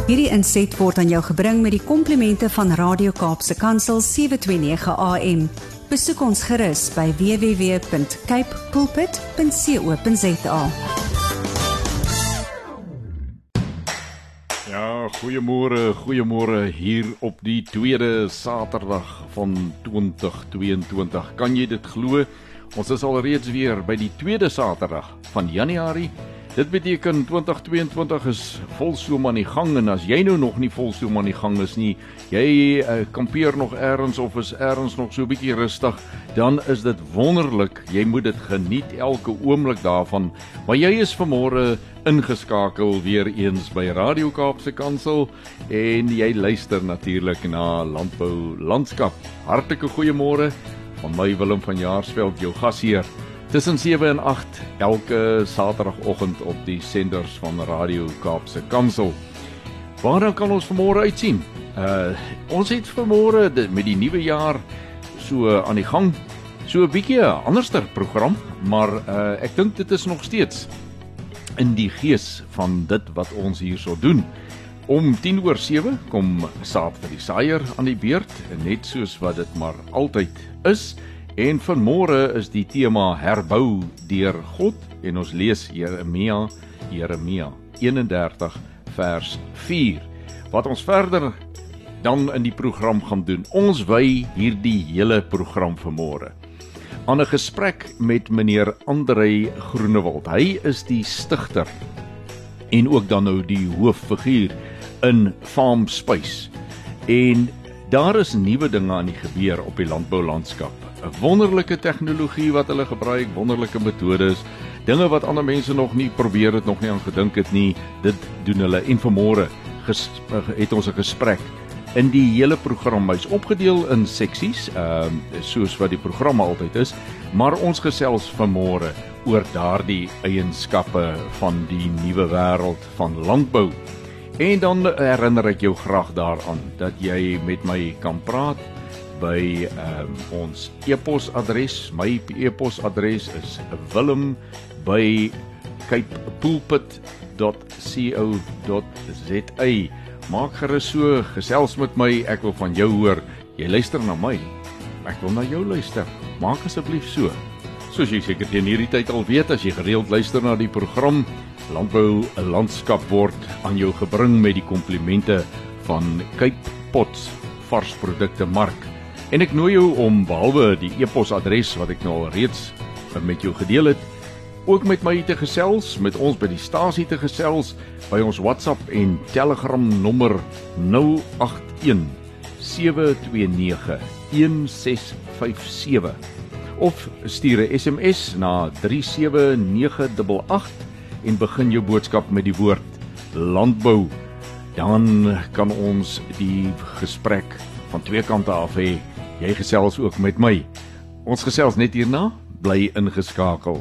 Hierdie inset word aan jou gebring met die komplimente van Radio Kaapse Kansel 729 AM. Besoek ons gerus by www.capepulpit.co.za. Ja, goeiemôre hier op die tweede Saterdag van 2022. Kan jy dit glo? Ons is alreeds weer by die tweede Saterdag van Januarie. Dit beteken 2022 is volstoom aan die gang, en as jy nou nog nie volstoom aan die gang is nie, jy kampeer nog ergens of is ergens nog so 'n bietjie rustig, dan is dit wonderlik. Jy moet dit geniet elke oomblik daarvan. Maar jy is vanmôre ingeskakel weer eens by Radio Kaapse Kansel en jy luister natuurlik na Landbou Landskap. Hartlike goeiemôre van my Willem van Jaarsveld, jou gasheer. Tussen 7 en 8 elke Saterdagoggend op die senders van Radio Kaapse Kansel. Waarna kan ons vanmôre uitsien? Ons het vanmôre met die nuwe jaar so aan die gang, so 'n bietjie 'n anderster program, maar ek dink dit is nog steeds in die gees van dit wat ons hierso doen. Om 7:10 kom Saad vir die Saaier aan die beurt, net soos wat dit maar altyd is. En vanmôre is die tema herbou deur God, en ons lees Jeremia 31 vers 4. Wat ons verder dan in die program gaan doen, ons wy hierdie hele program vanmôre aan 'n gesprek met meneer Andrei Groenewald. Hy is die stigter en ook dan nou die hooffiguur in Farm Spice. En daar is nuwe dinge aan die gebeur op die landboulandskap. 'n Wonderlike tegnologie wat hulle gebruik, wonderlike metodes, dinge wat ander mense nog nie probeer het, nog nie aan gedink het nie, dit doen hulle. En vanmôre het ons 'n gesprek in die hele program. Hy's opgedeel in seksies, soos wat die program altyd is, maar ons gesels vanmôre oor daardie eienskappe van die nuwe wêreld van landbou. En dan herinner ek jou graag daaraan dat jy met my kan praat by ons e-posadres. My e-posadres is willem@capepulpit.co.za. Maak gerus so, gesels met my, ek wil van jou hoor. Jy luister na my, ek wil na jou luister. Maak asseblief so. Soos jy seker teen hierdie tyd al weet, as jy gereeld luister na die program, Landbou 'n Landskap word aan jou gebring met die komplimente van Cape Pots varsprodukte mark. En ek nooi jou om, behalwe die e-posadres wat ek nou al reeds met jou gedeel het, ook met my te gesels, met ons by die stasie te gesels, by ons WhatsApp en Telegram nommer 081 729 1657. Of stuur 'n SMS na 37988 en begin jou boodskap met die woord landbou. Dan kan ons die gesprek van twee kante af hê. Jy gesels ook met my. Ons gesels net hierna, bly ingeskakel.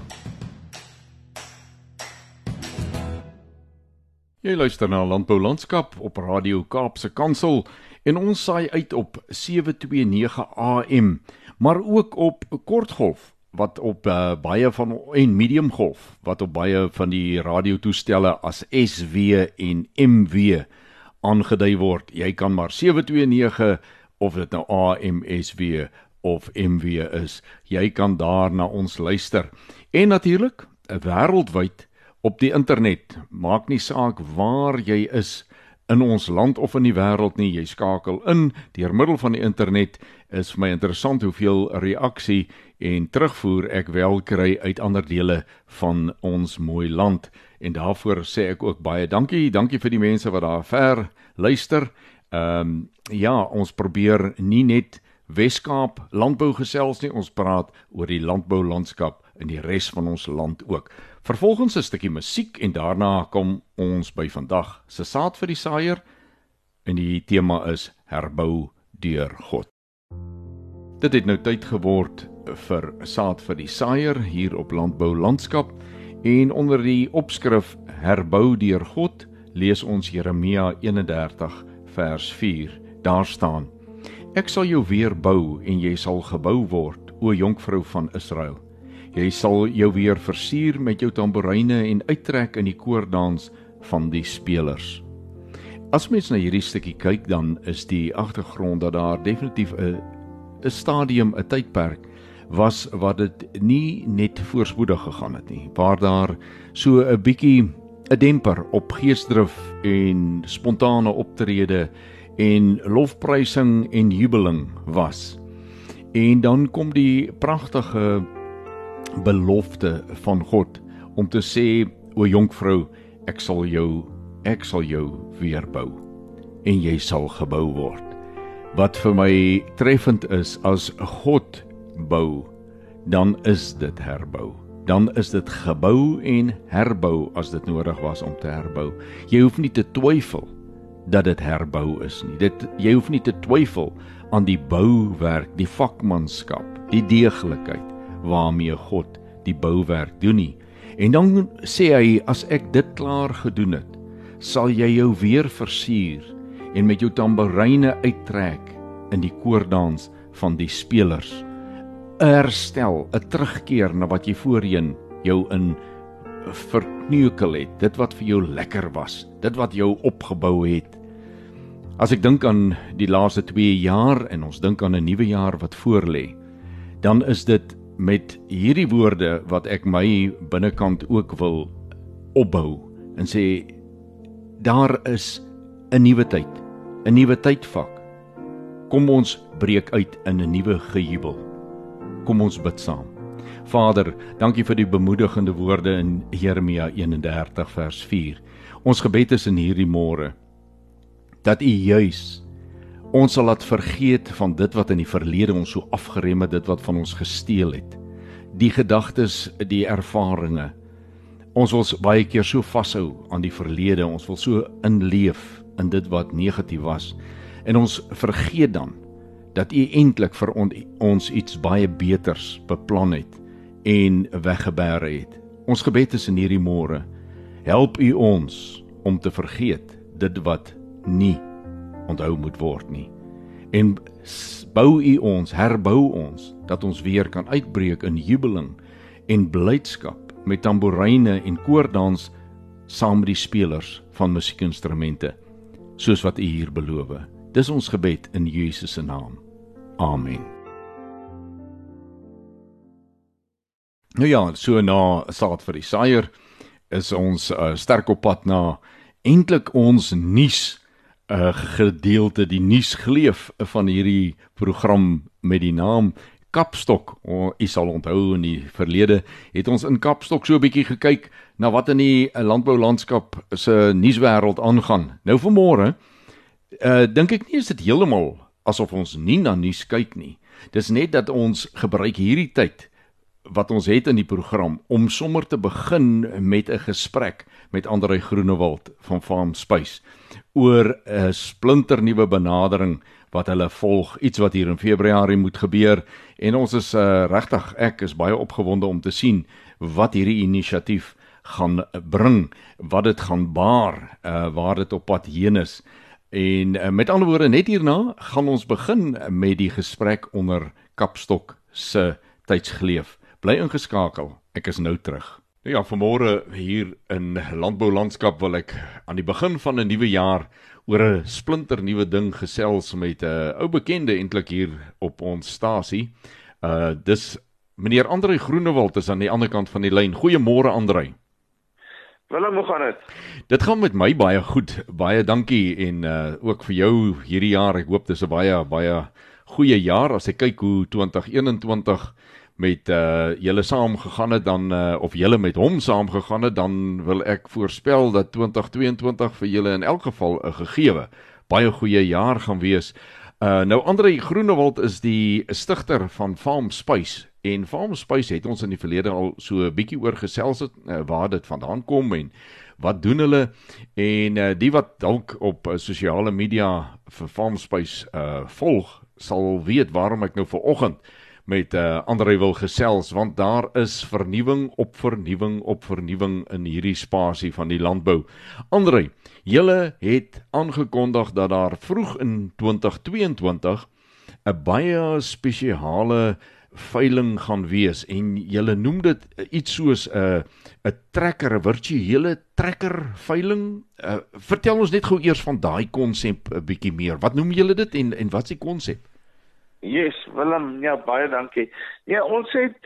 Jy luister na Landbou Landskap op Radio Kaapse Kansel en ons saai uit op 729 AM, maar ook op kortgolf wat op baie van en mediumgolf wat op baie van die radiotoestelle as SW en MW aangedui word. Jy kan maar 729 of dit nou AM, SW of MW is. Jy kan daar na ons luister. En natuurlik, wêreldwyd op die internet. Maak nie saak waar jy is in ons land of in die wêreld nie, jy skakel in deur middel van die internet. Is vir my interessant hoeveel reaksie en terugvoer ek wel kry uit ander dele van ons mooi land. En daarvoor sê ek ook baie dankie. Dankie vir die mense wat daar ver luister. Ja, ons probeer nie net Weskaap landbou gesels nie, ons praat oor die landboulandskap in die res van ons land ook. Vervolgens 'n stukkie musiek en daarna kom ons by vandag se Saad vir die Saaier en die tema is herbou deur God. Dit het nou tyd geword vir Saad vir die Saaier hier op Landbou Landskap en onder die opskrif herbou deur God lees ons Jeremia 31 vers 4. Daar staan: Ek sal jou weer bou en jy sal gebou word, o jonkvrou van Israel. Jy sal jou weer versier met jou tamboeryne en uittrek in die koordans van die spelers. As mens na hierdie stukkie kyk, dan is die agtergrond dat daar definitief 'n stadium, 'n tydperk was wat dit nie net voorspoedig gegaan het nie, waar daar so 'n bietjie 'n demper op geesdrif en spontane optrede en lofprysing en jubeling was. En dan kom die pragtige belofte van God om te sê, o jonkvrou, ek sal jou weer bou en jy sal gebou word. Wat vir my treffend is, as God bou, dan is dit herbou. Dan is dit gebou en herbou as dit nodig was om te herbou. Jy hoef nie te twyfel dat dit herbou is nie. Jy hoef nie te twyfel aan die bouwerk, die vakmanskap, die deeglikheid waarmee God die bouwerk doen nie. En dan sê hy, as ek dit klaar gedoen het, sal jy jou weer versier en met jou tamboeryne uittrek in die koordans van die spelers. 'n Herstel, 'n terugkeer na wat jy voorheen jou in verkneukel het, dit wat vir jou lekker was, dit wat jou opgebou het. As ek dink aan die laaste 2 jaar en ons dink aan 'n nuwe jaar wat voorlê, dan is dit met hierdie woorde wat ek my binnekant ook wil opbou en sê, daar is 'n nuwe tyd, 'n nuwe tydvak. Kom ons breek uit in 'n nuwe gejubel. Kom ons bid saam. Vader, dankie vir die bemoedigende woorde in Jeremia 31 vers 4. Ons gebed is in hierdie môre, dat U juis ons sal laat vergeet van dit wat in die verlede ons so afgerem het, dit wat van ons gesteel het. Die gedagtes, die ervarings. Ons wil baie keer so vashou aan die verlede, ons wil so inleef in dit wat negatief was. En ons vergeet dan dat U eintlik vir ons iets baie beters beplan het en weggebêre het. Ons gebed is in hierdie môre, help U ons om te vergeet dit wat nie onthou moet word nie. En bou U ons, herbou ons, dat ons weer kan uitbreek in jubeling en blydskap met tamboeryne en koordans saam met die spelers van musiekinstrumente, soos wat U hier beloof. Dis ons gebed in Jesus se naam. Amen. Nou ja, so na saad vir die saaier is ons sterk op pad na eintlik ons nuus gedeelte, die nuusgleef van hierdie program met die naam Kapstok. U sal onthou in die verlede het ons in Kapstok so 'n bietjie gekyk na wat in die landboulandskap se nuuswêreld aangaan. Nou vanmôre dink ek nie is dit heeltemal asof ons nie na nuus kyk nie. Dis net dat ons gebruik hierdie tyd wat ons het in die program om sommer te begin met 'n gesprek met Andrei Groenewald van Farm Spice oor 'n splinternuwe benadering wat hulle volg, iets wat hier in Februarie moet gebeur, en ons is regtig, ek is baie opgewonde om te sien wat hierdie inisiatief gaan bring, wat dit gaan baar, waar dit op pad heen is. En met ander woorde, net hierna gaan ons begin met die gesprek onder Kapstok se tydsgleef. Bly ingeskakel, ek is nou terug. Ja, vanmôre hier in Landboulandskap wil ek aan die begin van 'n nuwe jaar oor 'n splinternuwe ding gesels met 'n ou bekende eintlik hier op ons stasie. Dis meneer Andrei Groenewald is aan die ander kant van die lyn. Goeiemôre Andrei. Willem, hoe gaan dit? Dit gaan met my baie goed. Baie dankie en ook vir jou hierdie jaar. Ek hoop dis 'n baie goeie jaar as ek kyk hoe 2021 met julle saam gegaan het dan of julle met hom saam gegaan het, dan wil ek voorspel dat 2022 vir julle in elk geval 'n gegewe baie goeie jaar gaan wees. Nou Andrei Groenewald is die stigter van Farm Spice, en Farm Spice het ons in die verlede al so 'n bietjie oor gesels het, waar dit vandaan kom en wat doen hulle, en die wat dalk op sosiale media vir Farm Spice volg, sal weet waarom ek nou vanoggend met Andrei wil gesels, want daar is vernuwing op vernuwing op vernuwing in hierdie spasie van die landbou. Andrei, julle het aangekondig dat daar vroeg in 2022 'n baie spesiale veiling gaan wees en julle noem dit iets soos 'n trekker, 'n virtuele trekker veiling. Vertel ons net gou eers van daai konsep 'n bietjie meer. Wat noem julle dit en wat is die konsep? Yes, Willem, ja, baie dankie. Ja, ons het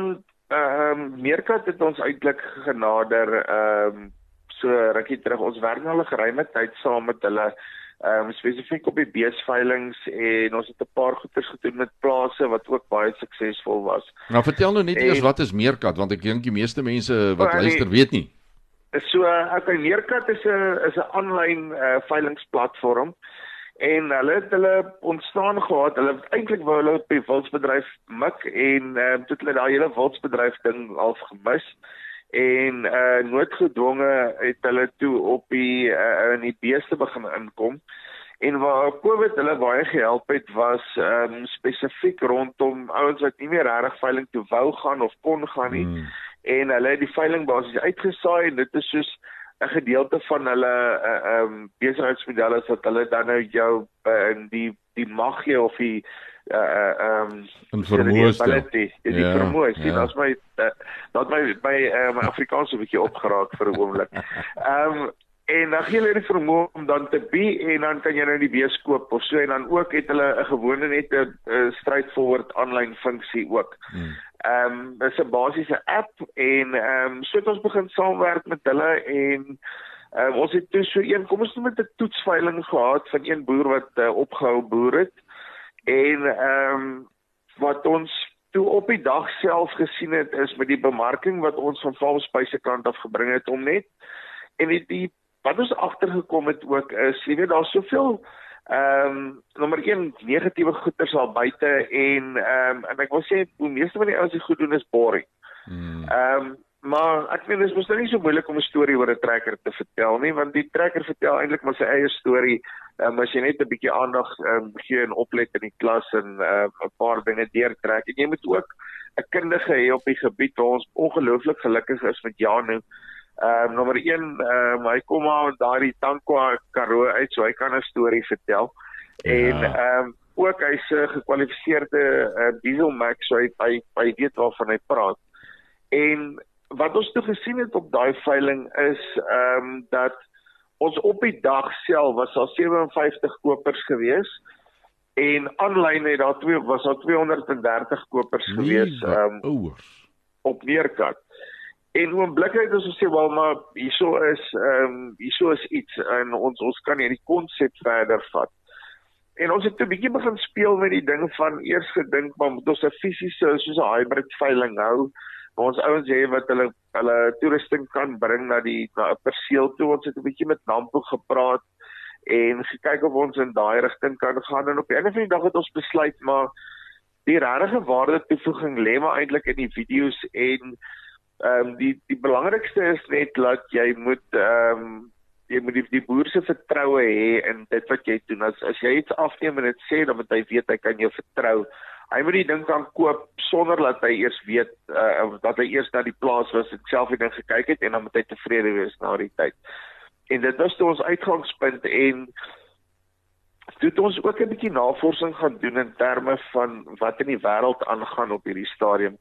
Meerkat het ons eintlik genader so rukkie terug. Ons werk al 'n geruime tyd saam met hulle spesifiek op die beesveilings en ons het 'n paar goeders gedoen met plase wat ook baie suksesvol was. Nou vertel nou net eers wat is Meerkat, want ek dink die meeste mense wat luister weet nie. So, okay, Meerkat is 'n aanlyn veilingsplatform en hulle het hulle ontstaan gehad. Hulle eintlik wou hulle op die wildsbedryf mik en toe hulle daai hele wildsbedryf ding al gemis. En noodgedwonge het hulle toe op in die beeste begin inkom. En waar COVID hulle baie gehelp het was spesifiek rondom ouens wat nie meer regtig veiling toe wou gaan of kon gaan nie. En hulle het die veiling basies uitgesaai en dit is soos 'n gedeelte van hulle besigheidsmodelle dat hulle dan nou jou die mag gee of die en vermoë stel. Die vermoë, dat my Afrikaans so 'n bietjie opgeraak vir 'n oomblik. En dan gee hulle die vermoë om dan te en dan kan jy nou die bees koop of so, en dan ook het hulle 'n gewone net 'n straightforward aanlyn funksie ook. Dis 'n basiese app en so het ons begin saamwerk met hulle en ons het toe kom ons met 'n toetsveiling gehad van een boer wat opgehou boer het. En wat ons toe op die dag self gesien het is met die bemarking wat ons van Valspy se kant af gebring het om net en wat ons agtergekom het ook is, jy weet daar's soveel nommer 1 negatiewe goeders al buite en ek wil sê hoe meeste van die ouens dit goed doen is boring. Maar ek weet dit is mos nie so moeilik om 'n storie oor 'n trekker te vertel nie, want die trekker vertel eintlik maar sy eie storie. As jy net 'n bietjie aandag gee en oplet in die klas en 'n paar dinge deurtrek. En jy moet ook 'n kundige hê op die gebied waar ons ongelooflik gelukkig is met Janu. Nommer 1, hy kom maar daardie Tankwa Karoo uit, so hy kan 'n storie vertel. Ja. En ook hy's 'n gekwalifiseerde dieselmax, so hy weet waarvan hy praat. En wat ons toe gesien het op daai veiling is dat ons op die dag self was daar 57 kopers gewees en aanlyn het was daar 230 kopers gewees op Meerkat. En oombliklik het ons gesê wel maar hierso is iets en ons kan hierdie konsep verder vat. En ons het 'n bietjie begin speel met die ding van eers gedink maar moet ons 'n fisiese soos 'n hybrid veiling hou. Maar ons ouens sê wat hulle toerusting kan bring na 'n perseel toe. Ons het 'n bietjie met Nampo gepraat en gekyk of ons in daai rigting kan gaan. En op die einde van die dag het ons besluit maar die regte waarde toevoeging lê maar eintlik in die video's en die belangrikste is net dat jy moet die boer se vertroue hê in dit wat jy doen. As jy iets afneem en dit sê dan moet hy weet hy kan jou vertrou. Hy moet die ding kan koop sonder dat hy eers weet dat hy eers na die plaas was en self die ding gekyk het en dan moet hy tevrede wees na die tyd. En dit was toe ons uitgangspunt en toe het ons ook 'n bietjie navorsing gaan doen in terme van wat in die wêreld aangaan op hierdie stadium.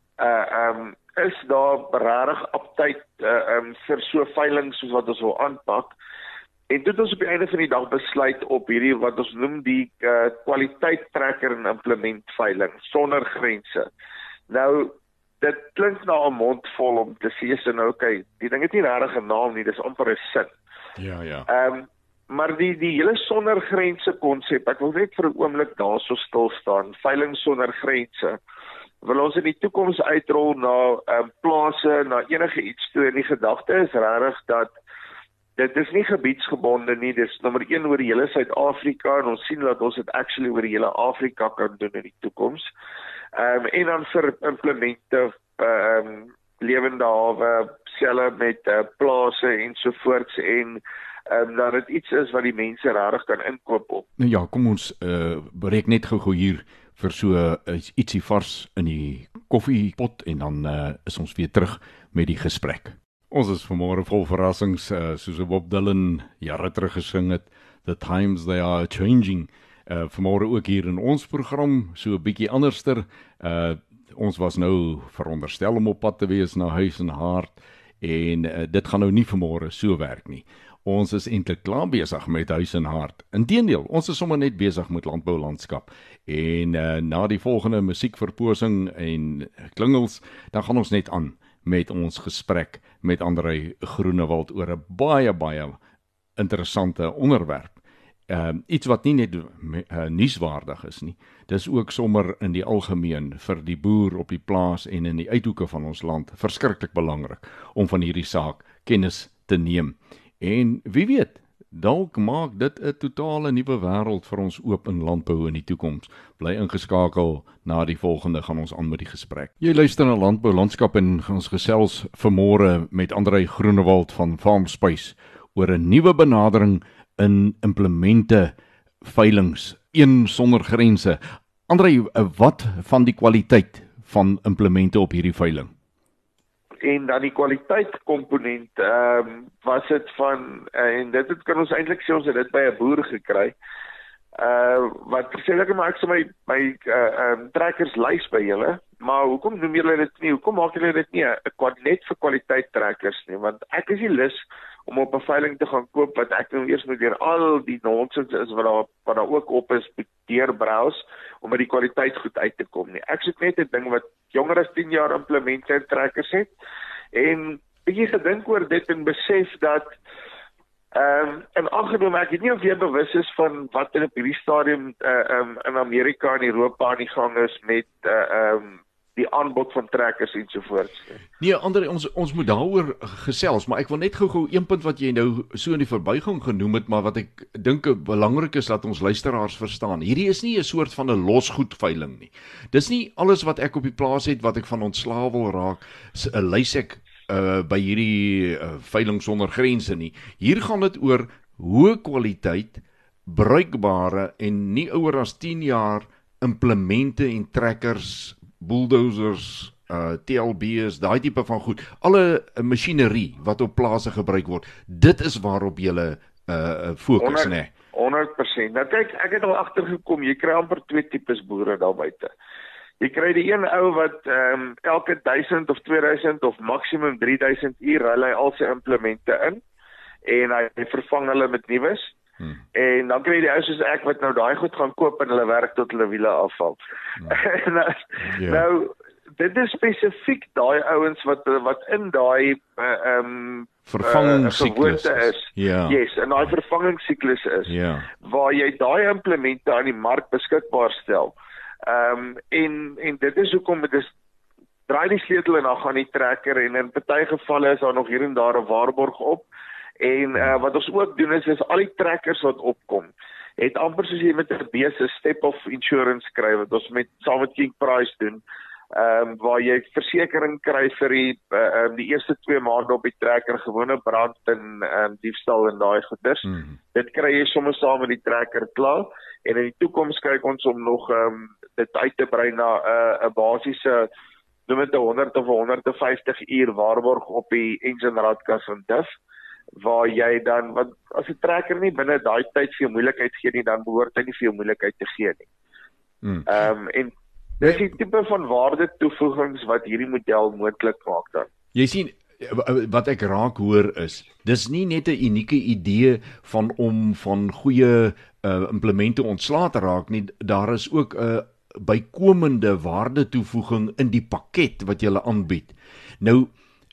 Is daar regtig aptyd vir so veiling soos wat ons wil aanpak? En toe het ons op die einde van die dag besluit op hierdie wat ons noem die kwaliteit trekker en implement veiling sonder grense. Nou dit klink na 'n mond vol om te sê so nou okay, die ding het nie regtig 'n naam nie, dis amper 'n sin. Ja. Maar die hele sonder grense konsep, ek wil net vir 'n oomblik daarso stil staan. Veiling sonder grense. Wil ons in die toekoms uitrol na plase, na enige iets toe en die gedagte is regtig dat dit is nie gebiedsgebonde nie, dis nommer 1 oor die hele Suid-Afrika en ons sien dat ons dit actually oor die hele Afrika kan doen in die toekoms. En dan vir implemente, lewende hawe, selle met plase ensovoorts en dat dit iets is wat die mense regtig kan inkoop op. Nou ja, kom ons breek net gou hier vir so ietsie vars in die koffiepot en dan is ons weer terug met die gesprek. Ons is vanmôre vol verrassings, soos Bob Dylan jare terug gesing het, The Times They Are Changing. Vanmôre ook hier in ons program, so 'n bietjie anderster. Ons was nou veronderstel om op pad te wees na Huis en Hart en dit gaan nou nie vanmôre so werk nie. Ons is eintlik klaar besig met Huis en Hart. Inteendeel, ons is sommer net besig met landboulandskap. En na die volgende musiekverposing en klingels, dan gaan ons net aan met ons gesprek met André Groenewald oor 'n baie interessante onderwerp. Iets wat nie net nuuswaardig is nie, dis ook sommer in die algemeen vir die boer op die plaas en in die uithoeke van ons land verskriklik belangrik om van hierdie saak kennis te neem. En wie weet, dalk maak dit 'n totale nuwe wêreld vir ons oop in landbou in die toekoms. Bly ingeskakel, na die volgende gaan ons aan met die gesprek. Jy luister na Landbou Landskap en ons gesels vanmôre met André Groenewald van FarmSpace oor 'n nuwe benadering in implemente veilings, een sonder grense. André, wat van die kwaliteit van implemente op hierdie veiling? En dan die kwaliteitskomponent, was dit van, en dit kan ons eintlik sê ons het dit by 'n boer gekry, wat sê ek maar ek sê my trekkers lys by julle, maar hoekom noem julle dit nie, hoekom maak julle dit nie net vir kwaliteit trekkers nie, want ek is nie lus om op 'n veiling te gaan koop wat ek nou eers moet deur al die nonsens is wat daar ook op is, deurbrowse om met die kwaliteit goed uit te kom nie. Ek soek net 'n ding wat jonger as 10 jaar implemente en trekkers het en bietjie gedink oor dit en besef dat en aangeneem ek weet nie of jy bewus is van wat in op hierdie stadium in Amerika en Europa aan die gang is met die aanbod van trekkers ensovoorts. Nee, André, ons moet daaroor gesels, maar ek wil net gou een punt wat jy nou so in die verbygang genoem het, maar wat ek dink belangrik is dat ons luisteraars verstaan. Hierdie is nie 'n soort van 'n losgoedveiling nie. Dis nie alles wat ek op die plaas het wat ek van ontslaa wil raak, lys ek by hierdie veiling sonder grense nie. Hier gaan dit oor hoë kwaliteit, bruikbare en nie ouer as 10 jaar implemente en trekkers, bulldozers, TLB's, daai tipe van goed, alle masjinerie wat op plase gebruik word, dit is waarop jy fokus, né? 100%. Nou kyk, ek het al agtergekom, jy kry amper 2 tipes boere daar buite. Jy kry die een ou wat elke 1000 of 2000 of maksimum 3000 uur ry hy al sy implemente in en hy vervang hulle met nuus. En dan kry jy die ou soos ek wat nou daai goed gaan koop en hulle werk tot hulle wiele afval. Nou, dit is spesifiek daai ouens wat in daai vervangingssiklus is. Yes, en daai vervangingssiklus is. Waar jy daai implemente aan die mark beskikbaar stel. En dit is hoekom dit is draai die sleutel en dan gaan die trekker en in party gevalle is daar nog hier en daar 'n waarborg op. En wat ons ook doen is al die trekkers wat opkom, het amper soos jy met 'n bese step of insurance kry wat ons saam met King Price doen, waar jy versekering kry vir die eerste 2 maande op die trekker, gewone brand en diefstal en daai goeders. Dit kry jy sommer saam met die trekker klaar en in die toekoms kyk ons om nog dit uit te brei na 'n basiese noem dit 100 of 150 uur waarborg op die engine radkas en diff, waar jy dan, want as 'n trekker nie binne daai tyd vir jou moeilikheid gee nie, dan behoort hy nie vir jou moeilikheid te gee nie. En dis die tipe van waarde toevoegings wat hierdie model moontlik maak dan. Jy sien, wat ek raak hoor is, dis nie net 'n unieke idee om van goeie implemente ontslae te raak nie, daar is ook 'n bykomende waarde toevoeging in die pakket wat jy aanbied. Nou,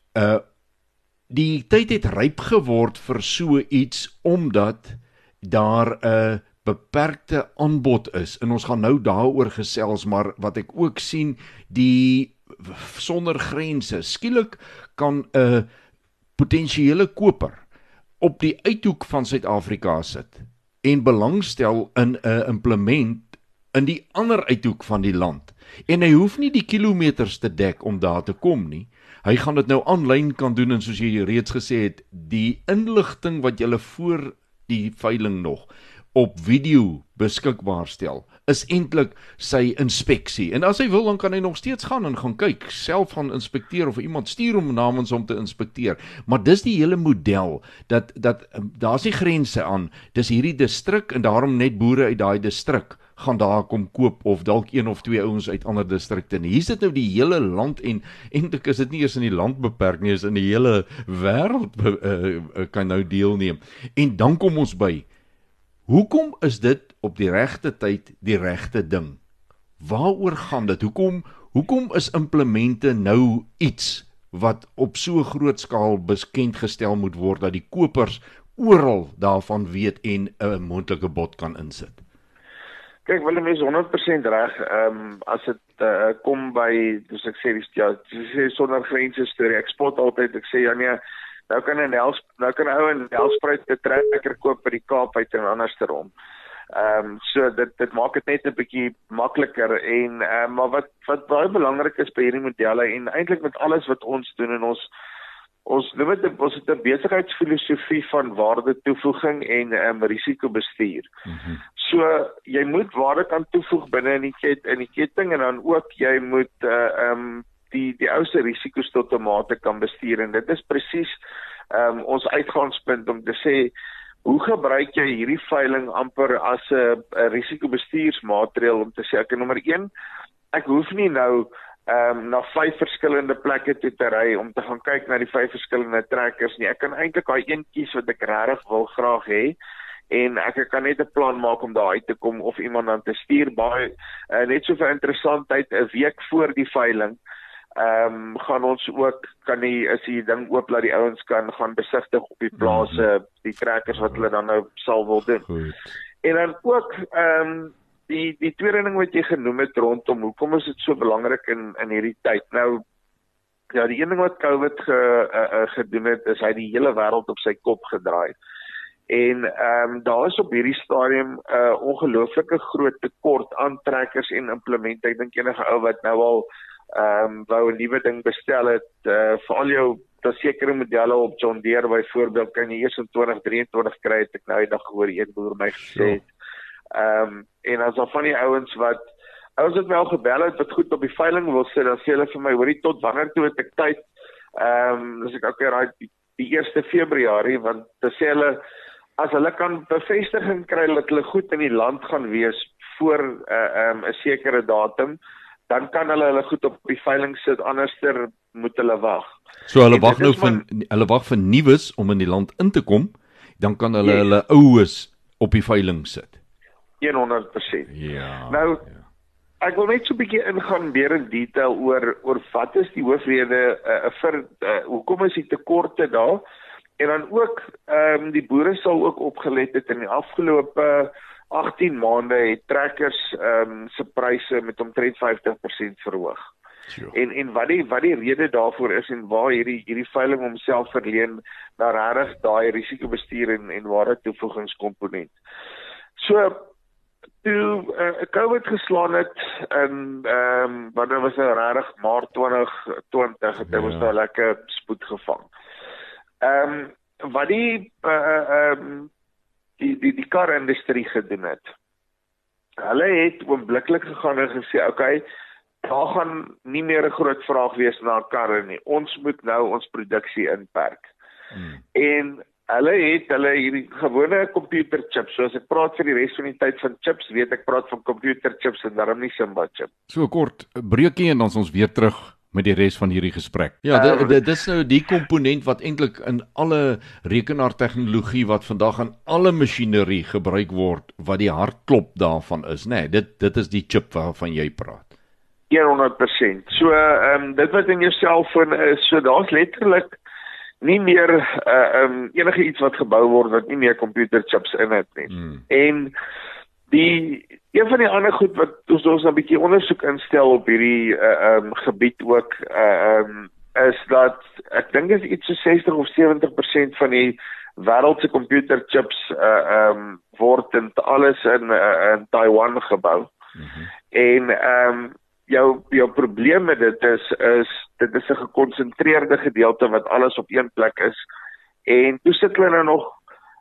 die tyd het ryp geword vir so iets, omdat daar 'n beperkte aanbod is, en ons gaan nou daaroor gesels, maar wat ek ook sien, die sonder grense, skielik kan 'n potensiële koper op die uithoek van Suid-Afrika sit, en belangstel in 'n implement in die ander uithoek van die land, en hy hoef nie die kilometers te dek om daar te kom nie. Hy gaan dit nou aanlyn kan doen, en soos jy reeds gesê het, die inligting wat jy voor die veiling nog op video beskikbaar stel, is eintlik sy inspeksie. En as hy wil, dan kan hy nog steeds gaan en gaan kyk, self gaan inspekteer of iemand stuur hom namens om te inspekteer. Maar dis die hele model dat daar's nie grense aan. Dis hierdie distrik en daarom net boere uit daai distrik gaan daar kom koop of dalk een of twee ouens uit ander distrikte. Hier is dit nou die hele land en eintlik is dit nie eers in die land beperk nie, is in die hele wêreld kan nou deelneem. En dan kom ons by, hoekom is dit op die regte tyd die regte ding? Waaroor gaan dit? Hoekom is implemente nou iets wat op so groot skaal bekend gestel moet word dat die kopers oral daarvan weet en 'n moontlike bod kan insit? Kyk, Willem is 100% reg. As dit kom by, soos ek sê, sonder grense storie. Ek spot altyd, ek sê nee, nou kan 'n ou 'n Nelspruit trekker koop by die Kaap uit en andersom. So dit maak dit net 'n bietjie makliker en maar wat baie belangrik is by hierdie modelle en eintlik met alles wat ons doen en ons het 'n besigheidsfilosofie van waarde toevoeging en risikobestuur. So jy moet waarde kan toevoeg binne in die ketting en dan ook jy moet die ouste risiko's tot 'n mate kan bestuur en dit is presies ons uitgangspunt om te sê hoe gebruik jy hierdie veiling amper as 'n risikobestuursmaatreël om te sê ek nommer 1 ek hoef nie nou na 5 verskillende plekke toe te ry om te gaan kyk na die 5 verskillende trekkers nie. Ek kan eintlik daai een kies wat ek regtig wil graag hê en ek kan net 'n plan maak om daar uit te kom of iemand dan te stuur baie net so vir interessantheid 'n week voor die veiling gaan ons ook is die ding oop dat die ouens kan gaan besigtig op die plase die trekkers wat hulle dan nou sal wil doen. Goed. En dan ook die tweede ding wat jy genoem het rondom hoekom is dit so belangrik in hierdie tyd. Nou ja, die een ding wat COVID gedoen het is hy die hele wêreld op sy kop gedraai. En daar is op hierdie stadium ongelooflike groot tekort aan trekkers en implemente. Ek dink enige ou wat nou al wou 'n nuwe ding bestel het, vir al jou sekere modelle op John Deere byvoorbeeld kan jy eers in 2023 kry, het ek nou die dag gehoor een boer my gesê het. En as al van die ouens wat wel gebel het wat goed op die veiling wil sit, dan sê hulle vir my, hoorie tot wanneer toe het ek tyd? Dis ek okay, die 1 Februarie, want dan sê hulle as hulle kan bevestiging kry dat hulle goed in die land gaan wees voor 'n sekere datum, dan kan hulle goed op die veiling sit, anderster moet hulle wag. So hulle wag nou hulle wag vir nuus om in die land in te kom, dan kan hulle oues op die veiling sit. 100%. Ja. Nou, ek wil net so 'n bietjie ingaan meer in detail oor wat is die hoofrede vir hoekom is die tekorte daar? En dan ook die boere sal ook opgelet het in die afgelope 18 maande het trekkers se pryse met omtrent 50% verhoog. Sure. En wat die rede daarvoor is en waar hierdie veiling homself verleen na regtig daai risikobestuur en ware toevoegingskomponent. So toe COVID geslaan het in wanneer was nou regtig Maart 2020 het ons nou lekker spoed gevang. Wat die karindustrie gedoen het. Hulle het oombliklik gegaan en gesê, okay, daar gaan nie meer 'n groot vraag wees na karre nie. Ons moet nou ons produksie inperk. En hulle hierdie gewone computerchips, so as ek praat vir die res van die tyd van chips, weet ek praat van computerchips en daarom nie Simba chip. So kort breekie en dan ons weer terug met die res van hierdie gesprek. Ja, dit is nou die komponent wat eintlik in alle rekenaartegnologie wat vandag aan alle masjinerie gebruik word, wat die hartklop daarvan is, né? Dit is die chip waarvan jy praat. 100%. So dit wat in jou selfoon is, so daar's letterlik nie meer enige iets wat gebou word wat nie meer computerchips in het nie. En een van die ander goed wat ons 'n bietjie ondersoek instel op hierdie gebied ook is dat ek dink is iets so 60 of 70% van die wêreld se computerchips word in alles in Taiwan gebou. En jou probleem met dit is dit is 'n gekonsentreerde gedeelte wat alles op een plek is. En toe sit hulle nou nog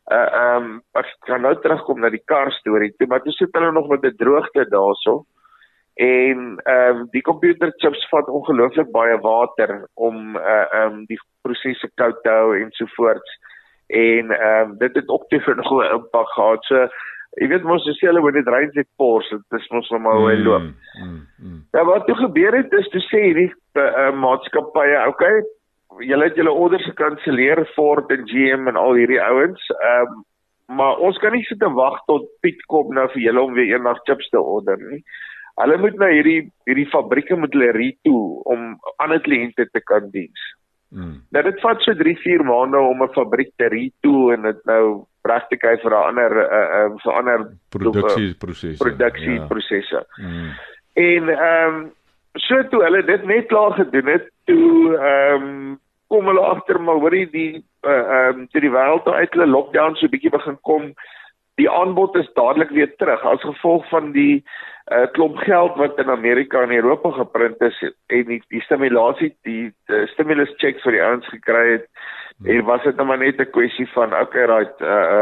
Ek gaan nou terugkom na die kar storie toe, maar toe sit hulle nog met 'n droogte daarso. En die computerchips vat ongelooflik baie water om die prosesse koud te hou en sovoorts. En dit het ook te vir nog 'n impak gehad. So jy weet mos as jy hulle net rein net pors, dit is mos nog maar hoe hy loop. Ja, wat toe gebeur het is toe sê hierdie maatskappye, okay, julle het julle orders gekanselleer, Ford en GM en al hierdie ouens, maar ons kan nie sit en wag tot Piet kom nou vir julle om weer eendag chips te order nie. Hulle moet nou hierdie fabrieke moet hulle retool om ander kliënte te kan diens. Nou dit vat so 3-4 maande om 'n fabriek te retool en dit nou reg te kry vir 'n ander produksieprosesse. En so toe hulle dit net klaar gedoen het, toe kom hulle agter maar hoorie die wêreld uit hulle lockdown so 'n bietjie begin kom. Die aanbod is dadelik weer terug as gevolg van die klomp geld wat in Amerika en Europa geprint is en die stimulasie, die stimulus checks vir die ouens gekry het. En was dit nou maar net 'n kwessie van okay, right,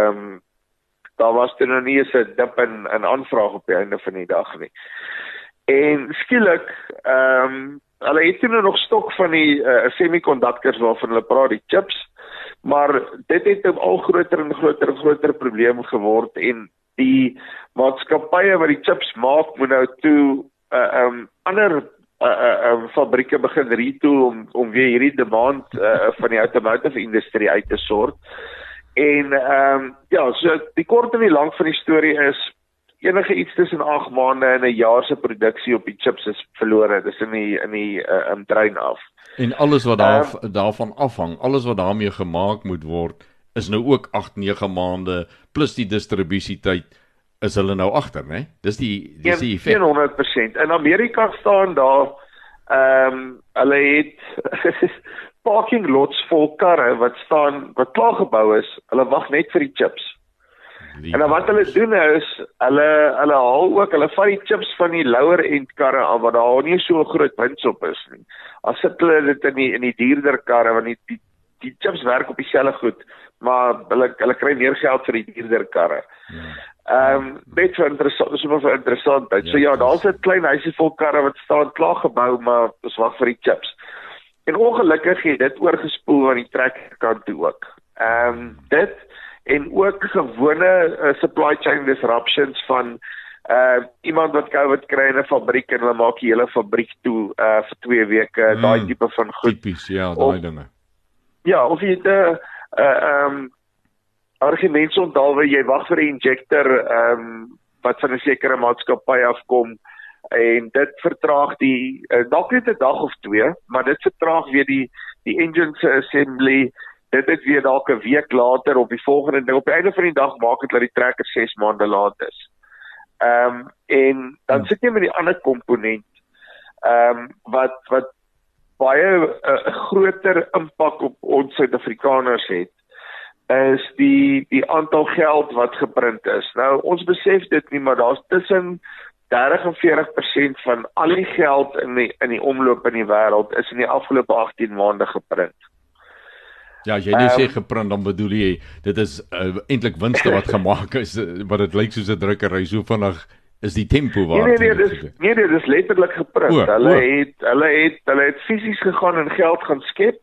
daar was toe nog nie eens 'n dip in aanvraag op die einde van die dag nie. En skielik, hulle het nou nog stok van die semiconductors waarvan hulle praat, die chips, maar dit het 'n al groter en groter probleem geword en die maatskappye wat die chips maak moet nou toe ander fabrieke begin retool om weer hierdie demand van die automotive industrie uit te sort. En ja, so die kort en die lank van die storie is enige iets tussen 8 maande en 'n jaar se produksie op die chips is verlore. Dis in die trein af. En alles wat daarvan afhang, alles wat daarmee gemaak moet word, is nou ook 8-9 maande plus die distributietyd is hulle nou agter, né? Dis die effek. 100%. In Amerika staan daar hulle het parking lots vol karre wat klaar gebou is. Hulle wag net vir die chips. En dan wat hulle doen is, hulle vat die chips van die lower end karre af, wat daar nie so groot wins op is nie. As sit hulle dit in die duurder karre, want die chips werk op dieselfde goed, maar hulle kry meer geld vir die duurder karre. Net vir interessantheid. So ja, daar's 'n klein huisie vol karre wat staan klaar gebou, maar ons wag vir die chips. En ongelukkig het dit oorgespoel aan die trekkerkant toe ook. Dit en ook gewone supply chain disruptions van iemand wat COVID kry in 'n fabriek en hulle maak die hele fabriek toe vir 2 weke, daai tipe van goed. Tipies, ja, daai dinge. Ja, of jy het argumente onthou waar jy wag vir 'n injector wat van 'n sekere maatskappy afkom en dit vertraag dalk net 'n dag of 2, maar dit vertraag weer die engine assembly. Dit is weer dalk 'n week later op die volgende ding. Op die einde van die dag maak dit dat die trekker 6 maande laat is. En dan sit jy met die ander komponent wat baie groter impak op ons Suid-Afrikaners het, is die aantal geld wat geprint is. Nou, ons besef dit nie, maar daar's tussen 30 en 40% van al die geld in die omloop in die wêreld is in die afgelope 18 maande geprint. Ja, as jy nie sê geprint, dan bedoel jy, dit is eintlik winste wat gemaak is, wat dit lyk soos 'n drukkery, so vinnig is die tempo waar. Nee, dit is letterlik geprint. Hulle het fisies gegaan en geld gaan skep,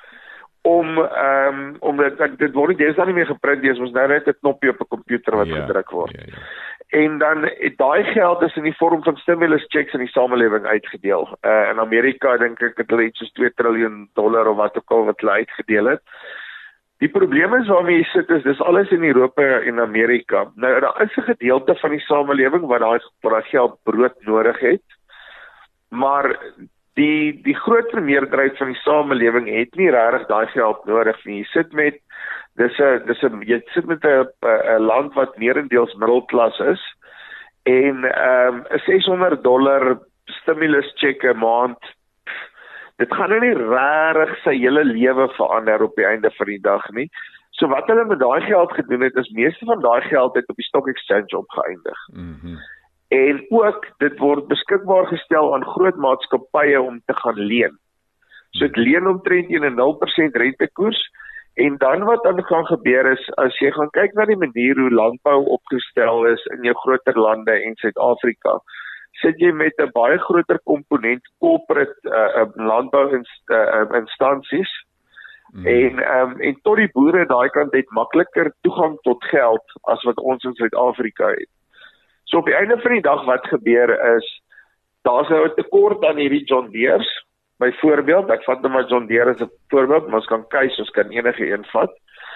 om dit word nie meer geprint, dis ons nou net 'n knoppie op 'n komputer wat gedruk word. Ja. En dan het daai geld is in die vorm van stimulus checks in die samelewing uitgedeel. In Amerika dink ek het hulle iets soos $2 triljoen of wat ook al wat hulle uitgedeel het. Die probleem is waarmee jy sit is, dis alles in Europa en Amerika. Nou, daar is 'n gedeelte van die samelewing wat daai geld brood nodig het, maar die groter meerderheid van die samelewing het nie regtig daai geld nodig nie. Jy sit met jy sit met 'n land wat meerendeels middelklas is en $'n $600 stimulus check 'n maand. Dit gaan nou nie regtig sy hele lewe verander op die einde van die dag nie. So wat hulle met daai geld gedoen het, is meeste van daai geld het op die stock exchange opgeëindig. En ook, dit word beskikbaar gestel aan groot maatskappye om te gaan leen. So dit leen omtrent teen 'n 0% rentekoers En dan wat dan gaan gebeur is, as jy gaan kyk na die manier hoe landbou opgestel is in jou groter lande en Suid-Afrika, sit jy met 'n baie groter komponent corporate landbouinstansies en tot die boere daai kant het makliker toegang tot geld as wat ons in Suid-Afrika het. So op die einde van die dag wat gebeur is, daar's nou 'n tekort aan hierdie John Deere's. Byvoorbeeld, ek vat nou maar John Deere as 'n voorbeeld, maar ons kan Keis, ons kan enige een vat.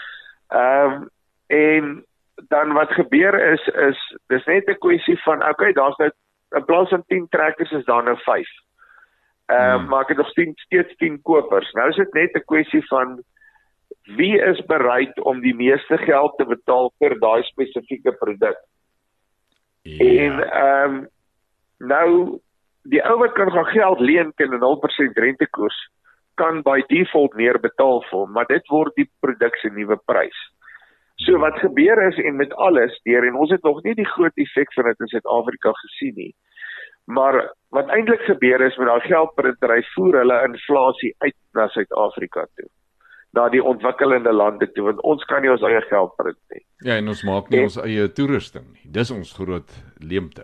En dan wat gebeur is dis net 'n kwessie van, okay, daar's nou in plaas van 10 trekkers is daar nou 5. Maar ek het nog steeds 10 kopers. Nou is dit net 'n kwessie van wie is bereid om die meeste geld te betaal vir daai spesifieke produk. En nou die ou wat kan gaan geld leen teen 'n 0% rentekoers kan by default meer betaal vir hom, maar dit word die produk se nuwe prys. So wat gebeur is, en met alles deur, en ons het nog nie die groot effek van dit in Suid-Afrika gesien nie, maar wat eintlik gebeur is met daai geldprintery voer hulle inflasie uit na Suid-Afrika toe, na die ontwikkelende lande toe, want ons kan nie ons eie geld print nie. Ja, en ons maak nie ons eie toerusting nie. Dis ons groot leemte.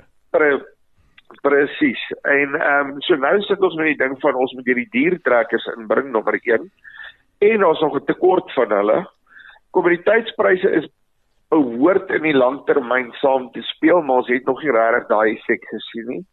Presies. En so nou sit ons met die ding van ons moet hierdie diertrekkers inbring, nommer 1, en ons nog 'n tekort van hulle. Kommoditeitspryse is behoort in die langtermyn saam te speel, maar ons het nog nie regtig daai effek gesien nie.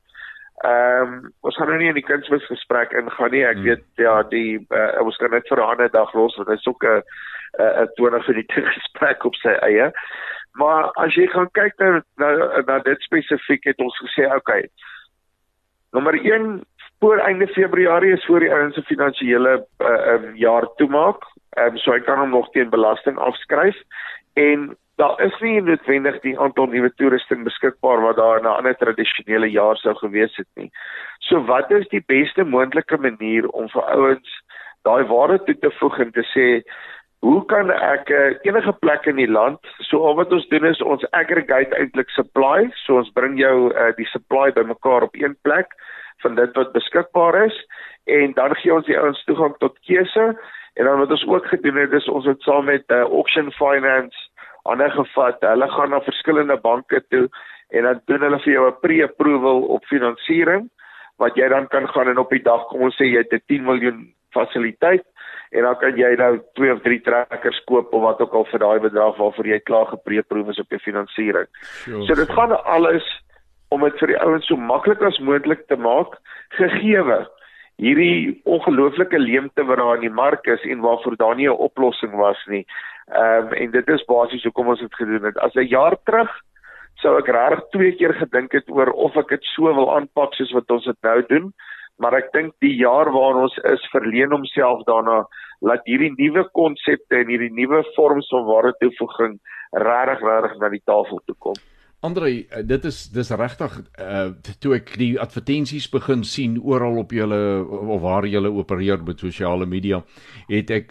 Ons gaan nou nie in die kunsmisgesprek ingaan nie. Ek weet ja, ons kan net vir 'n ander dag los, want dit is ook 'n 20 minute gesprek op sy eie. Maar as jy gaan kyk na dit spesifiek, het ons gesê, okay, nommer 1, voor einde Februarie is voor die ouens se finansiële jaar toemaak, so hy kan hom nog teen belasting afskryf, en daar is nie noodwendig die aantal nuwe toerusting beskikbaar wat daar in 'n ander tradisionele jaar sou gewees het nie. So wat is die beste moontlike manier om vir ouens daai waarde toe te voeg en te sê, hoe kan ek enige plek in die land, so al wat ons doen is ons aggregate eintlik supply, so ons bring jou die supply bymekaar op een plek van dit wat beskikbaar is, en dan gee ons die ouens toegang tot keuse, en dan wat ons ook gedoen het is ons het saam met Auction Finance ander gevat, hulle gaan na verskillende banke toe, en dan doen hulle vir jou 'n pre-approval op finansiering, wat jy dan kan gaan en op die dag, kom ons sê jy het 'n 10 miljoen fasiliteit, en dan kan jy nou 2 of 3 trekkers koop, of wat ook al vir daai bedrag waarvoor jy klaar gepre-approve is op jou finansiering. So dit gaan alles om dit vir die ouens so maklik as moontlik te maak, gegeewe hierdie ongelooflike leemte wat daar in die mark is, en waarvoor daar nie 'n oplossing was nie. En dit is basies hoekom ons dit gedoen het. As 'n jaar terug, sou ek regtig 2 keer gedink het oor of ek dit so wil aanpak soos wat ons dit nou doen, maar ek dink die jaar waar ons is, verleen homself daarna, laat hierdie nuwe konsepte en hierdie nuwe vorms van waardetoevoeging regtig na die tafel toe kom. André, dis regtig, toe ek die advertensies begin sien oral op julle, of waar julle opereer met sosiale media, het ek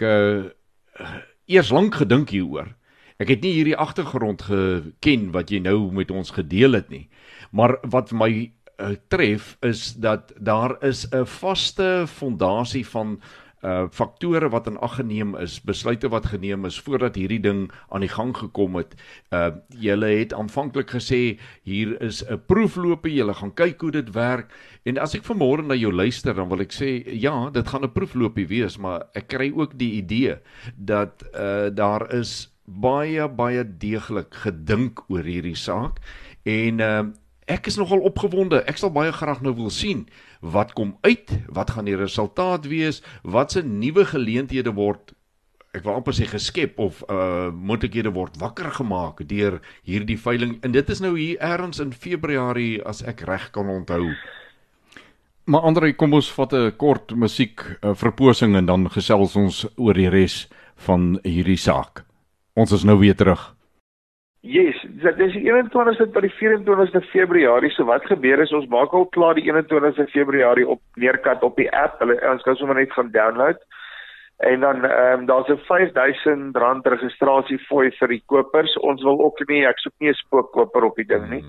eers lank gedink hieroor. Ek het nie hierdie agtergrond geken wat jy nou met ons gedeel het nie. Maar wat my tref is dat daar is 'n vaste fondasie van faktore wat in ag geneem is, besluite wat geneem is voordat hierdie ding aan die gang gekom het. Julle het aanvanklik gesê hier is 'n proefloopie, julle gaan kyk hoe dit werk, en as ek vanmôre na jou luister, dan wil ek sê ja, dit gaan 'n proefloopie wees, maar ek kry ook die idee dat daar is baie deeglik gedink oor hierdie saak, en ek is nogal opgewonde. Ek sal baie graag nou wil sien wat kom uit, wat gaan die resultaat wees, wat se nuwe geleenthede word, ek wil amper sê geskep, of moontlikhede word wakker gemaak deur hierdie veiling, en dit is nou hier ergens in Februarie, as ek reg kan onthou. Maar André, kom ons vat 'n kort musiek verposing en dan gesels ons oor die res van hierdie saak. Ons is nou weer terug. Yes, dit is die 21ste tot die 24ste Februarie, so wat gebeur is, ons maak al klaar die 21ste Februarie op neerkat op die app, ons kan sommer net gaan download, en dan daar's 'n R5,000 registrasiefooi vir die kopers, ons wil ook nie, ek soek nie 'n spookkoper op die ding nie,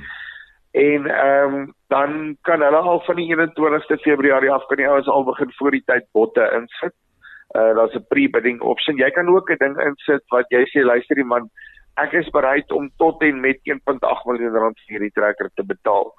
en dan kan hulle al van die 21ste Februarie af, kan die ouens al begin voor die tyd botte insit, daar's 'n pre-bidding option. Jy kan ook 'n ding insit wat jy sê, luister die man, ek is bereid om tot en met 1.8 miljoen rand vir hierdie trekker te betaal.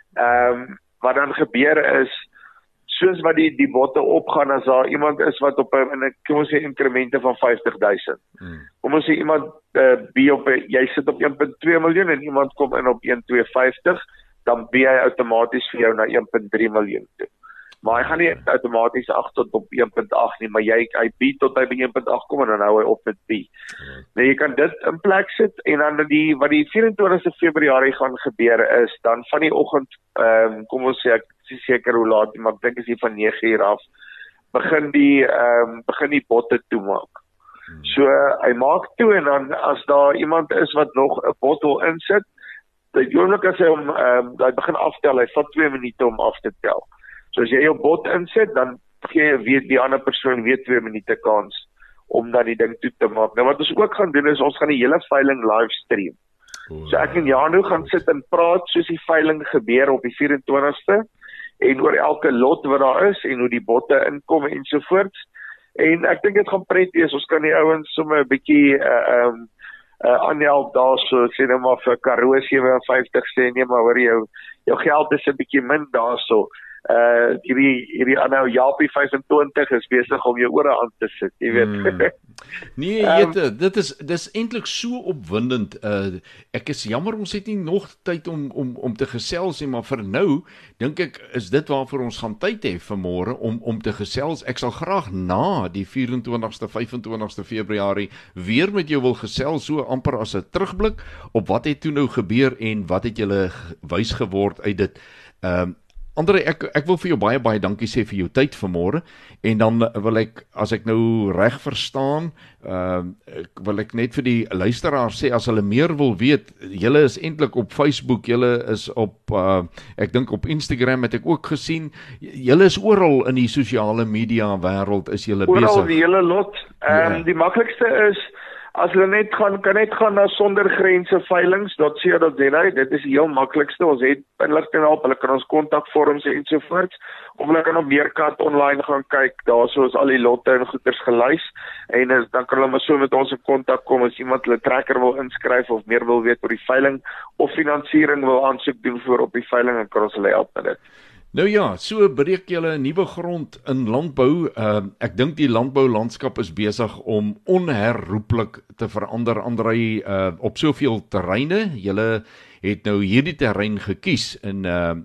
Wat dan gebeur is, soos wat die botte opgaan, as daar iemand is wat op 'n kom ons sê inkremente van 50.000. Kom ons sê iemand jy sit op 1.2 miljoen en iemand kom in op 1.250, dan bie hy outomaties vir jou na 1.3 miljoen toe. Maar hy gaan nie outomaties 8 tot op 1.8 nie, maar hy bie tot hy by 1.8 kom en dan hou hy op met bie. Nou jy kan dit in plek sit en dan wat die 24 Februarie gaan gebeur is, dan van die oggend, kom ons sê, ek is seker hoe laat, maar ek dink is hier van 9 uur af, begin die botte toemaak. So hy maak toe en dan as daar iemand is wat nog 'n bot wil insit, die oomblik as hy begin aftel, hy vat 2 minute om af te tel. So as jy jou bot insit, dan gee jy die ander persoon weer 2 minute kans om dan die ding toe te maak. Nou wat ons ook gaan doen is, ons gaan die hele veiling livestream. So ek en Janu gaan sit en praat soos die veiling gebeur op die 24ste en oor elke lot wat daar is en hoe die botte inkom en sovoorts. En ek dink dit gaan pret wees. Ons kan die ouens sommer 'n bietjie aanhelp daar, so sê nou maar vir Karoo 57 sê, nee maar hoor jou geld is 'n bietjie min daarso. Hierdie aanhou Japie 25 is besig om jou ore aan te sit, jy weet. Nee, dis eintlik so opwindend. Ek is jammer ons het nie nog tyd om te gesels nie, maar vir nou dink ek is dit waarvoor ons gaan tyd hê vanmôre om te gesels. Ek sal graag na die 24ste, 25ste Februarie weer met jou wil gesels, so amper as 'n terugblik op wat het toe nou gebeur en wat het julle wys geword uit dit. Andre, ek wil vir jou baie dankie sê vir jou tyd vanmôre, en dan wil ek, as ek nou reg verstaan, wil ek net vir die luisteraars sê, as hulle meer wil weet, julle is eintlik op Facebook, julle is op, ek dink op Instagram het ek ook gesien, julle is oral in die sosiale media wêreld, is julle besig. Oral die hele lot. Die maklikste is, as hulle kan net gaan na sondergrenseveilings.co.za, dit is die heel maklikste, ons het inligting op, hulle kan ons kontakvorms ensovoorts, of hulle kan op Meerkat online gaan kyk, daar is al die lotte en goeders gelys, en dan kan hulle maar so met ons in kontak kom, as iemand hulle trekker wil inskryf, of meer wil weet oor die veiling, of finansiering wil aansoek doen voor op die veiling, dan kan ons hulle help met dit. Nou ja, so breek julle nuwe grond in landbou. Ek dink die landboulandskap is besig om onherroepelik te verander, Andrei, op soveel terreine. Julle het nou hierdie terrein gekies en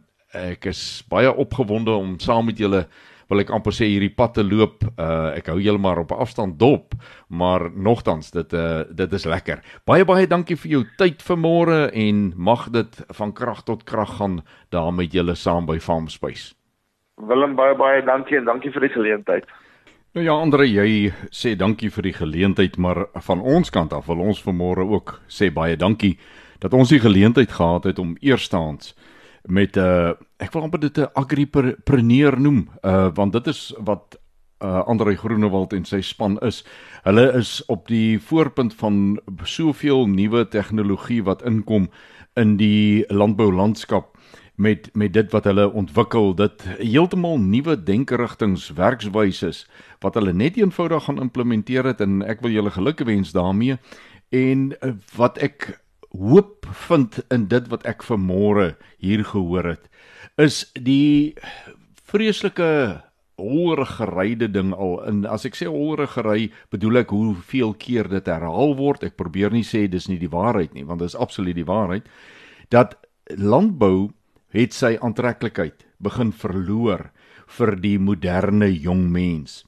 ek is baie opgewonde om saam met julle, wil ek amper sê, hierdie pad te loop. Ek hou julle maar op afstand dop, maar nogtans, dit is lekker. Baie dankie vir jou tyd vanmôre en mag dit van krag tot krag gaan daar met julle saam by Farmspace. Willem, baie dankie en dankie vir die geleentheid. Nou ja, Andre, jy sê dankie vir die geleentheid, maar van ons kant af wil ons vanmôre ook sê baie dankie dat ons die geleentheid gehad het om eerstehands met, ek wil amper dit 'n agripreneur noem, want dit is wat Andrei Groenewald en sy span is. Hulle is op die voorpunt van soveel nuwe tegnologie wat inkom in die landboulandskap met dit wat hulle ontwikkel, dit heeltemal nuwe denkerigtings, werkswyses wat hulle net eenvoudig gaan implementeer het, en ek wil julle gelukwens daarmee. En wat ek hoop vind in dit wat ek vanmôre hier gehoor het, is die vreeslike holrigeryde ding al. En as ek sê holrigery, bedoel ek hoeveel keer dit herhaal word. Ek probeer nie sê dis nie die waarheid nie, want dit is absoluut die waarheid, dat landbou het sy aantreklikheid begin verloor vir die moderne jong mens.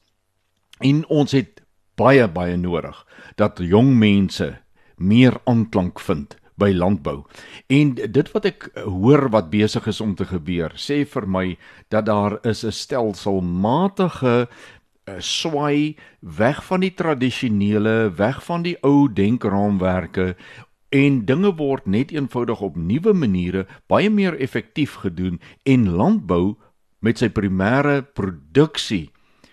En ons het baie nodig dat jong mense meer aanklank vind by landbou. En dit wat ek hoor wat besig is om te gebeur, sê vir my dat daar is 'n stelselmatige swaai weg van die tradisionele, weg van die ou denkraamwerke, en dinge word net eenvoudig op nuwe maniere baie meer effektief gedoen, en landbou met sy primêre produksie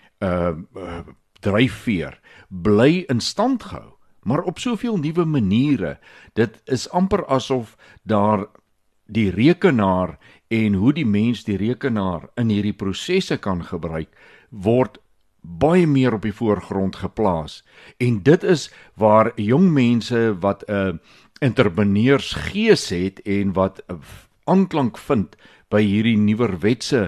dryfveer bly in stand gehou, maar op soveel nuwe maniere. Dit is amper asof daar die rekenaar en hoe die mens die rekenaar in hierdie prosesse kan gebruik, word baie meer op die voorgrond geplaas. En dit is waar jong mense wat 'n entrepreneursgees het en wat aanklank vind by hierdie nuwerwetse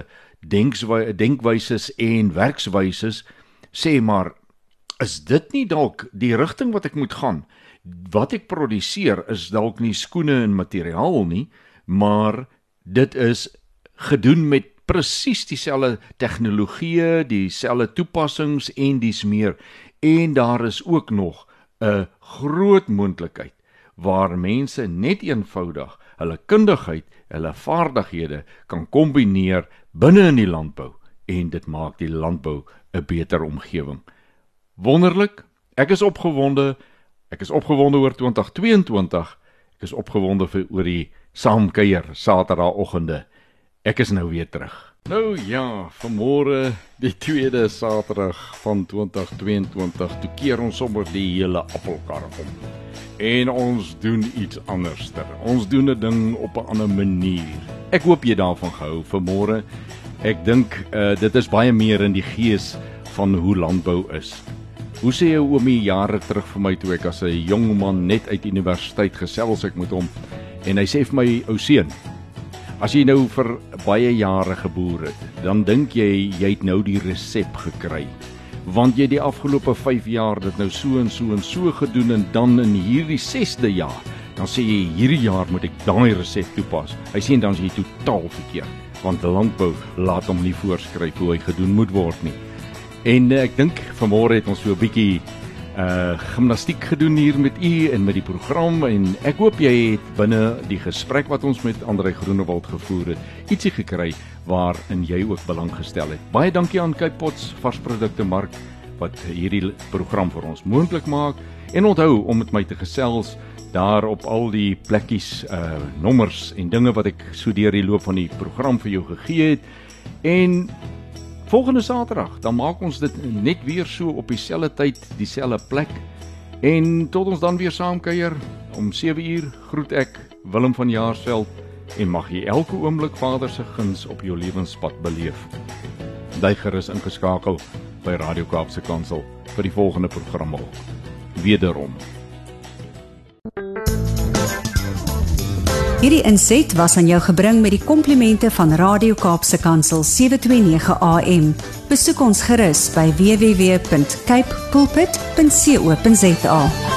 denkwyses en werkswyses, sê maar, is dit nie dalk die rigting wat ek moet gaan? Wat ek produseer is dalk nie skoene en materiaal nie, maar dit is gedoen met presies dieselfde tegnologie, dieselfde toepassings en dies meer. En daar is ook nog 'n groot moontlikheid waar mense net eenvoudig hulle kundigheid, hulle vaardighede kan kombineer binne in die landbou en dit maak die landbou 'n beter omgewing. Wonderlik, ek is opgewonde oor 2022, ek is opgewonde oor die saamkuier Saterdagoggende. Ek is nou weer terug. Nou ja, vanmôre die tweede Saterdag van 2022, toe keer ons sommer die hele appelkar om. En ons doen iets anderster. Ons doen 'n ding op 'n ander manier. Ek hoop jy daarvan gehou vanmôre. Ek dink dit is baie meer in die gees van hoe landbou is. Hoe sê jou oomie jare terug vir my toe ek as 'n jong man net uit universiteit gesels ek met hom en hy sê vir my, ou seun, as jy nou vir baie jare geboer het, dan dink jy het nou die resep gekry. Want jy die afgelope 5 jaar dit nou so en so en so gedoen en dan in hierdie 6de jaar, dan sê jy hierdie jaar moet ek daai resep toepas. Hy sê dan is jy totaal verkeerd, want landbou laat hom nie voorskryf hoe hy gedoen moet word nie. En ek dink vanmôre het ons so 'n bietjie gimnastiek gedoen hier met u en met die program en ek hoop jy het binne die gesprek wat ons met André Groenewald gevoer het, ietsie gekry waarin jy ook belang gestel het. Baie dankie aan Cape Pots varsprodukte mark wat hierdie program vir ons moontlik maak en onthou om met my te gesels daar op al die plekkies, nommers en dinge wat ek so deur die loop van die program vir jou gegee het. En volgende Saterdag, dan maak ons dit net weer so op dieselfde tyd, dieselfde plek. En tot ons dan weer saamkuier om 7 uur, groet ek Willem van Jaarsveld en mag jy elke oomblik Vader se guns op jou lewenspad beleef. Bly gerus ingeskakel by Radio Kaapse Kansel vir die volgende program ook. Wederom. Hierdie inset was aan jou gebring met die komplimente van Radio Kaapse Kansel 729 AM. Besoek ons gerus by www.cape pulpit.co.za.